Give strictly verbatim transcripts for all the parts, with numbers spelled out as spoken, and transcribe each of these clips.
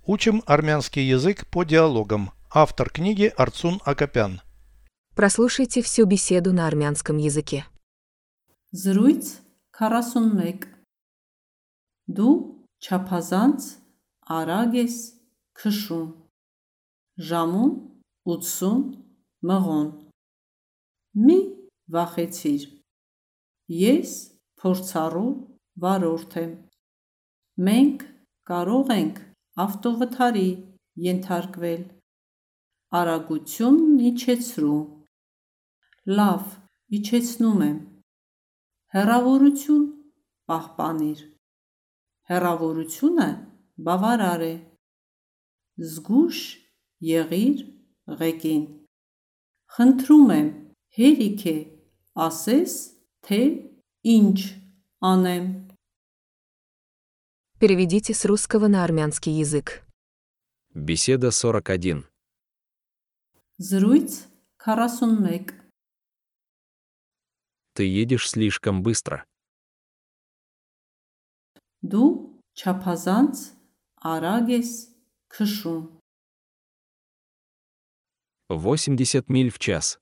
Учим армянский язык по диалогам. Автор книги Арцун Акопян. Прослушайте всю беседу на армянском языке. Զրույց քառասունմեկ Դու չափազանց արագ ես քշում, ժամում ութսուն մղոն, մի վախեցիր, ես փորձառու վարորդ եմ, մենք կարող ենք ավտովթարի ենթարկվել, արագությունն իջեցրու, լավ, իջեցնում եմ, հեռավորություն պահպանիր, հեռավորությունը բավարար է, զգույշ եղիր ղեկին, խնդրում եմ հերիք է ասես, թե ինչ անեմ. Переведите с русского на армянский язык. Беседа сорок один. Զրույց քառասունմեկ Ты едешь слишком быстро. Դու չափազանց արագ ես քշում, восемьдесят миль в час.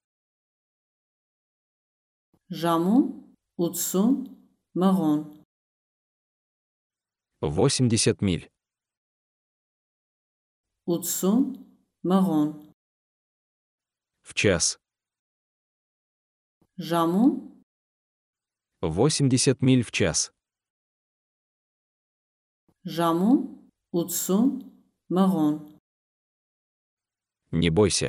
ժամում ութսուն մղոն, восемьдесят миль. ութսուն մղոն, В час. ժամում восемьдесят миль в час. ժամում ութսուն մղոն, Не бойся.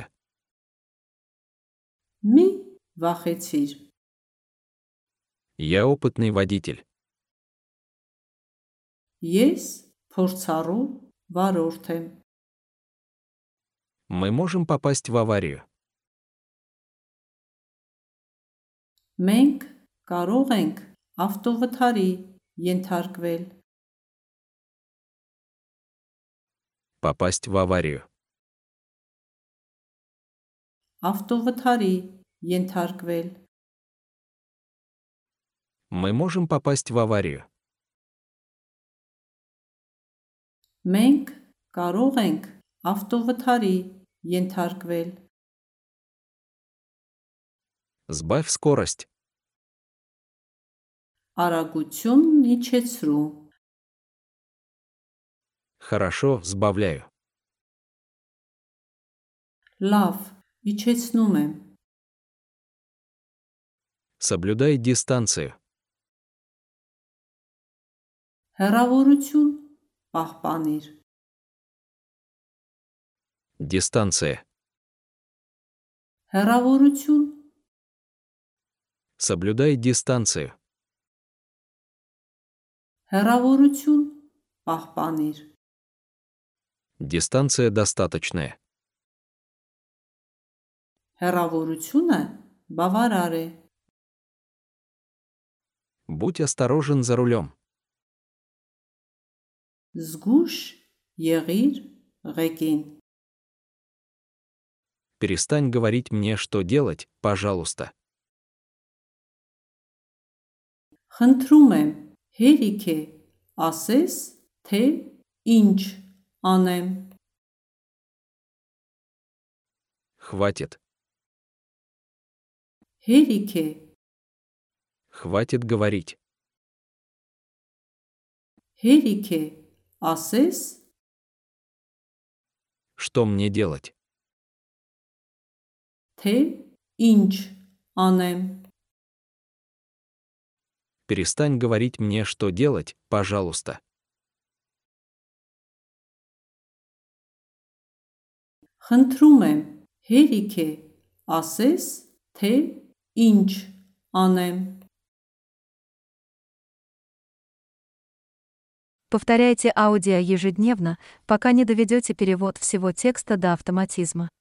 մի վախեցիր, Я опытный водитель. ես փորձառու վարորդ եմ, Мы можем попасть в аварию. մենք կարող ենք ավտովթարի ենթարկվել, Попасть в аварию. ավտովթարի ենթարկվել, Мы можем попасть в аварию. մենք կարող ենք ավտովթարի ենթարկվել, Сбавь скорость. արագությունն իջեցրու, Хорошо, сбавляю. լավ, իջեցնում եմ, Соблюдай дистанцию. հեռավորություն պահպանիր, Дистанция. հեռավորություն, Соблюдай дистанцию. հեռավորություն պահպանիր, Дистанция достаточная. հեռավորությունը բավարար է, Будь осторожен за рулем. զգույշ եղիր ղեկին, Перестань говорить мне, что делать, пожалуйста. խնդրում եմ, հերիք է ասես, թե ինչ անեմ, Хватит. հերիք է, Хватит говорить. հերիք է ասես, Что мне делать? թե ինչ անեմ, Перестань говорить мне, что делать, пожалуйста. խնդրում եմ, հերիք է ասես, թե ինչ անեմ. Повторяйте аудио ежедневно, пока не доведете перевод всего текста до автоматизма.